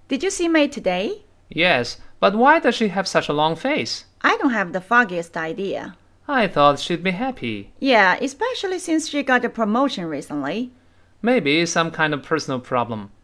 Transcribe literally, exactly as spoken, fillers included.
Did you see May today? Yes, but why does she have such a long face? I don't have the foggiest idea. I thought she'd be happy. Yeah, especially since she got a promotion recently. Maybe some kind of personal problem.